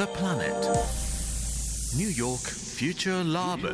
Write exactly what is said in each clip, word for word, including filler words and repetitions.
the planet. New York Future Labo.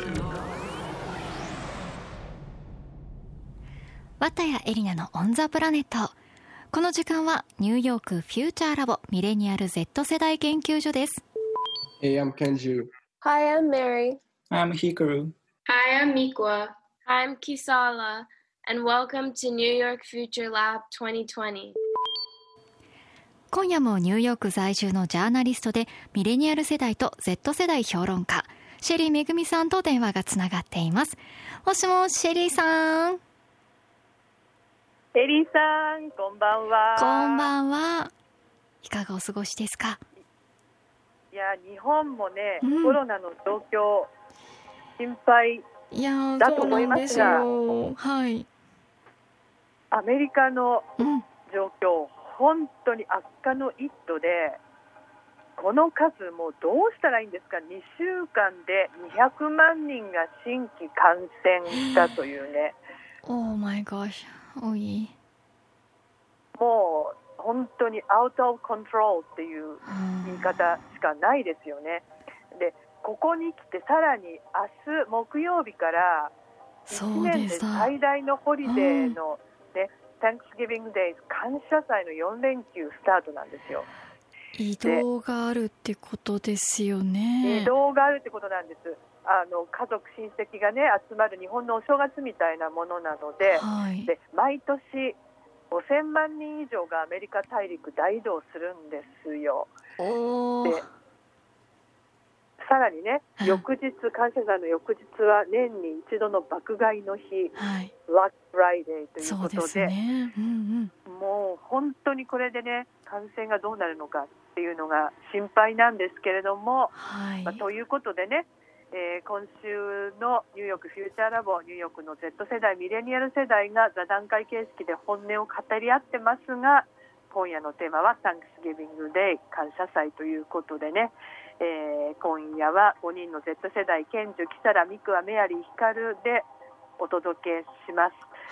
綿谷エリナのオンザプラネット。この時間はニューヨークフューチャーラボミレニアル Z 世代研究所です。 Hey, I'm Kenju. Hi, I'm Mary. I'm Hikaru. Hi, I'm Mikwa. I'm Kisala, and welcome to New York Future Lab twenty twenty. 今夜もニューヨーク在住のジャーナリストでミレニアル世代と Z 世代評論家シェリーめぐみさんと電話がつながっています。もしもしシェリーさん。 シェリーさん、こんばんは。 こんばんは。いかがお過ごしですか？ いや、日本もね、 うん、 コロナの状況心配だと思いますが、 はい、 アメリカの状況、 うん、 本当に悪化の一途で、この数もうどうしたらいいんですか？にしゅうかんでにひゃくまんにんが新規感染したというね。 Oh my gosh、多い。 もう本当にアウトオブコントロールっていう言い方しかないですよね。で、ここに来てさらに明日木曜日からいちねんで最大のホリデーの、ね、Thanksgiving Day 感謝祭のよんれんきゅうスタートなんですよ。 移動があるってことですよね。 移動があるってことなんです。あの家族親戚がね集まる日本のお正月みたいなものなので、 はい、 で毎年ごせんまんにん以上がアメリカ大陸大移動するんですよ。 おでさらにね、翌日感謝祭の翌日は年に一度の爆買いの日、 はい、 ブラックフライデーということ で, そうですね、うんうん、もう本当にこれでね感染がどうなるのかっていうのが心配なんですけれども、 はい、 まあ、ということでね、えー、今週のニューヨークフューチャーラボ、ニューヨークの Z 世代ミレニアル世代が座談会形式で本音を語り合ってますが、今夜のテーマは Thanksgiving Day 感謝祭ということでね、えー、今夜はごにんの Z 世代ケンジュ、キサラ、ミクワ、メアリー、ヒカルでお届けします、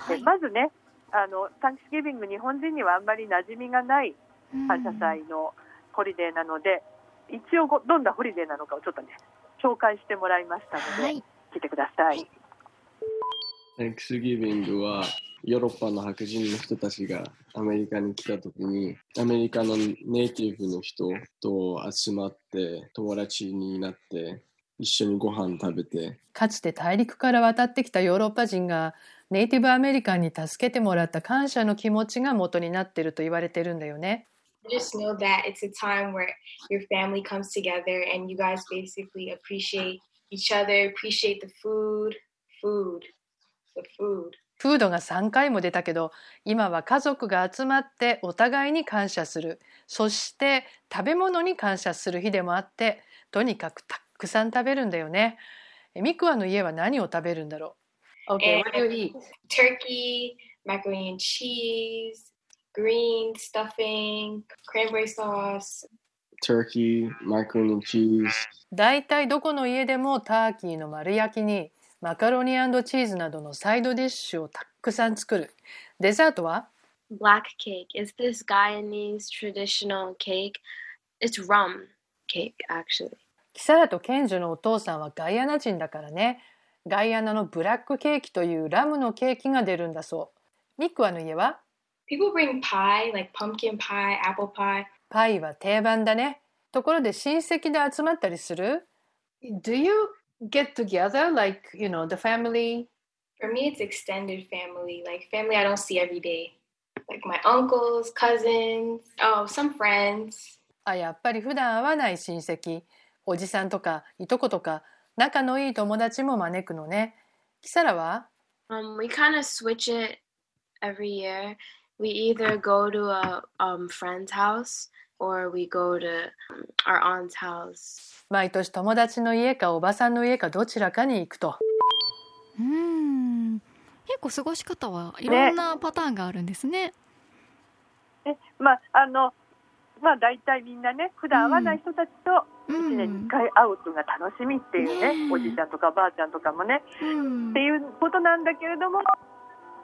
はい、でまずねあの Thanksgiving 日本人にはあんまり馴染みがない感謝祭のホリデーなので、一応どんなホリデーなのかをちょっとね紹介してもらいましたので、はい、聞いてください。 Thanksgiving はヨーロッパの白人の人たちがアメリカに来た時にアメリカのネイティブの人と集まって友達になって一緒にご飯食べて、 かつて大陸から渡ってきたヨーロッパ人がネイティブアメリカンに助けてもらった感謝の気持ちが元になっていると言われてるんだよね。 Just know that it's a time where your family comes together and you guys basically appreciate each other, appreciate the food, food, the food. フードがさんかいも出たけど、今は家族が集まってお互いに感謝する、そして食べ物に感謝する日でもあって、とにかくたくさん食べるんだよね。ミクワの家は何を食べるんだろう？ Okay, what do you eat? Turkey, macaroni and cheese.Green stuffing, cranberry sauce. Turkey, macaroni and cheese. だいたいどこの家でもターキーの丸焼きにマカロニ&チーズなどのサイドディッシュをたくさん作る。デザートは Black cake. It's this Guyanese traditional cake. It's rum cake, actually. キサラとケンジュのお父さんはガイアナ人だからね。ガイアナのブラックケーキというラムのケーキが出るんだそう。ミクワの家は People bring pie, like pumpkin pie, apple pie. パイは定番だね。ところで親戚で集まったりする？ Do you get together, like, you know, the family? For me, it's extended family, like family I don't see every day. Like my uncles, cousins, oh, some friends. あ、やっぱり普段会わない親戚、おじさんとかいとことか仲のいい友達も招くのね。キサラは？ Um, we kind of switch it every year.We either go to a um, friend's house or we go to our aunt's house. 毎年友達の家かおばさんの家かどちらかに行くと。 うーん、結構過ごし方はいろんなパターンがあるんですね。 ね、まああのまあ大体みんなね普段会わない人たちといちねんにいっかい会うのが楽しみっていうね、うん、おじいちゃんとかばあちゃんとかもね、うん、っていうことなんだけれども。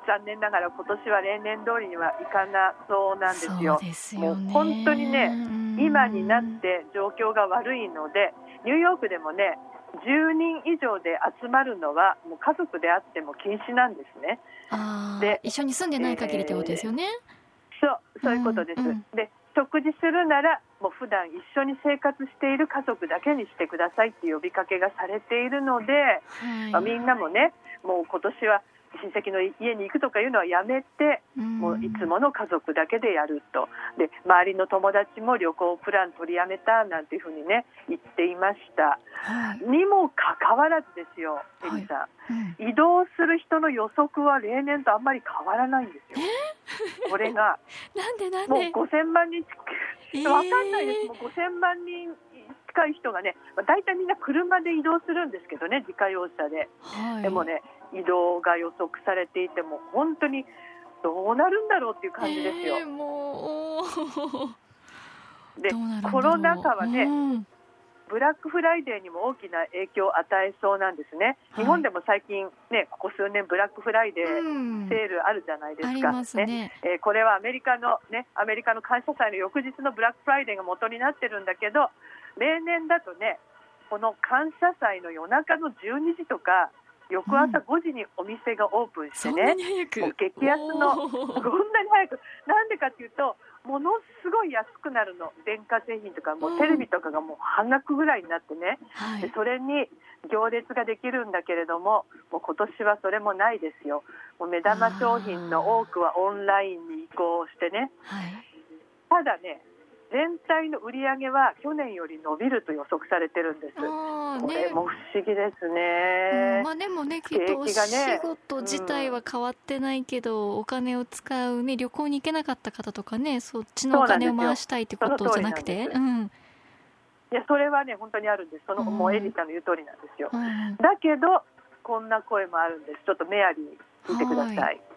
残念ながら今年は例年通りにはいかなそうなんですよ。 そうですよね。 もう本当にね、今になって状況が悪いので、ニューヨークでもねじゅうにん以上で集まるのはもう家族であっても禁止なんですね。 あで一緒に住んでない限りってことですよね、 えー、そうそういうことです、 うんうん、 で食事するならもう普段一緒に生活している家族だけにしてくださいっていう呼びかけがされているので、 はい、 まあ、みんなもねもう今年は親戚の家に行くとかいうのはやめて、うん、もういつもの家族だけでやると。で周りの友達も旅行プラン取りやめたなんていうふうにね言っていました、はい、にもかかわらずですよ、エリさん、はいうん、移動する人の予測は例年とあんまり変わらないんですよ。これがなんでなんでもうごせんまんにん近い、えー、分かんないです。もうごせんまんにん近い人がね、まあ、大体みんな車で移動するんですけどね、自家用車で、はい、でもね移動が予測されていても本当にどうなるんだろうっていう感じですよ、 えー、もうでコロナ禍はね、 うん、 ブラックフライデーにも大きな影響を与えそうなんですね、はい、日本でも最近ねここ数年ブラックフライデーセールあるじゃないですか、うん、ありますね、えー、これはアメリカのねアメリカの感謝祭の翌日のブラックフライデーが元になってるんだけど、例年だとねこの感謝祭の夜中のじゅうにじとか翌朝ごじにお店がオープンしてね、うん、もう激安のこんなに早く、なんでかっていうとものすごい安くなるの、電化製品とかもうテレビとかがもう半額ぐらいになってね、うん、でそれに行列ができるんだけれども、もう今年はそれもないですよ。もう目玉商品の多くはオンラインに移行してね、はい、ただね全体の売り上げは去年より伸びると予測されてるんです。 あ、ね、 これも不思議ですね、 うんまあ、でもねきっとお仕事自体は変わってないけど、うん、お金を使う、ね、旅行に行けなかった方とかね、そっちのお金を回したいってことじゃなくて、うん、 いやそれはね本当にあるんです。その、うん、もうエリさんの言う通りなんですよ、うん、だけどこんな声もあるんです。ちょっとメアリー聞いてください。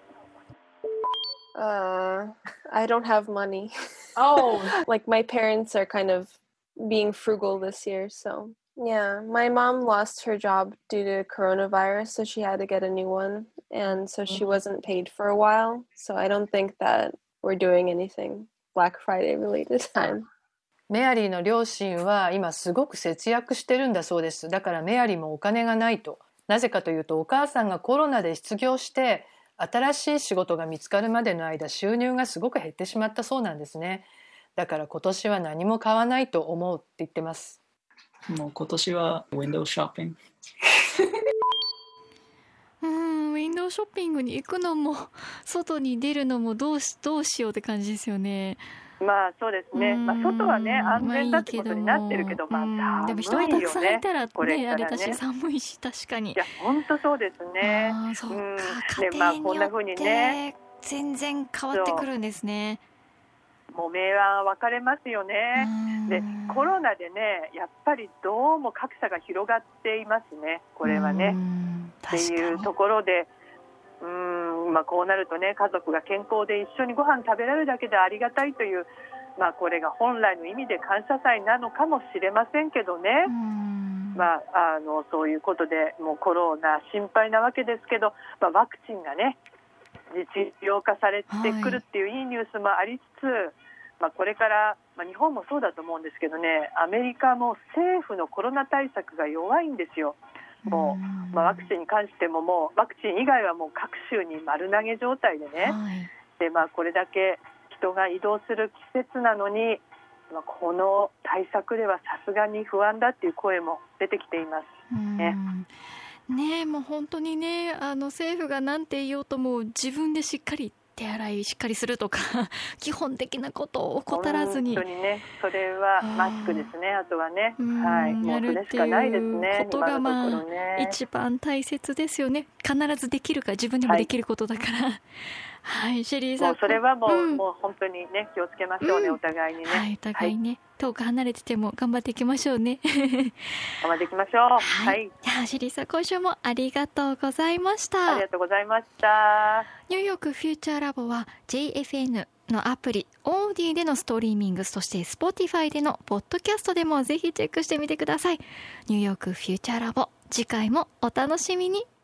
Uh, I don't have money. Oh, like my parents are kind of being frugal this year, so yeah. My mom lost her job due to coronavirus, so she had to get a new one, and so she wasn't paid for a while. So I don't think that we're doing anything Black Friday related time. メアリーの両親は今すごく節約してるんだそうです。だからメアリーもお金がないと。なぜかというとお母さんがコロナで失業して新しい仕事が見つかるまでの間収入がすごく減ってしまったそうなんですね。だから今年は何も買わないと思うって言ってます。 もう今年はウィンドウショッピングうんウィンドウショッピングに行くのも外に出るのもどうし、どうしようって感じですよね。 まあそうですね、まあ、外はね安全だってことになってるけど、まあ、 でも人がたくさんいたらね、ねあれだし寒いし、確かに。 いや本当そうですね。 あそうか、うん、家庭によって全然変わってくるんですね。 もう明暗分かれますよね。でコロナでねやっぱりどうも格差が広がっていますね、これはね。っていうところでうーん、まあ、こうなるとね家族が健康で一緒にご飯食べられるだけでありがたいという、まあ、これが本来の意味で感謝祭なのかもしれませんけどね。まあ、あのそういうことでもうコロナ心配なわけですけど、まあ、ワクチンがね実用化されてくるっていういいニュースもありつつ、はいまあ、これから、まあ、日本もそうだと思うんですけどね、アメリカも政府のコロナ対策が弱いんですよ。もう、まあ、ワクチンに関してももうワクチン以外はもう各州に丸投げ状態でね、はい、でまあ、これだけ人が移動する季節なのに、まあ、この対策ではさすがに不安だっていう声も出てきていますね。 ねえもう本当にねあの政府が何て言おうとも自分でしっかり手洗いしっかりするとか基本的なことを怠らずに本当にねそれはマスクですね。あとはね、はい、もうそれしかないですね。 ことがまあ、ね、一番大切ですよね。必ずできるか自分でもできることだから、はいはい、シェリーさんもうそれはもう、うん、もう本当にね気をつけましょうね、うん、お互いにね、 はい、お互いね、はい、遠く離れてても頑張っていきましょうね頑張っていきましょう。はい、はい、 じゃあシェリーさん今週もありがとうございました。 ありがとうございました。 ニューヨークフューチャーラボは ジェイエフエヌ のアプリオーディでのストリーミング、そして Spotify でのポッドキャストでもぜひチェックしてみてください。ニューヨークフューチャーラボ次回もお楽しみに。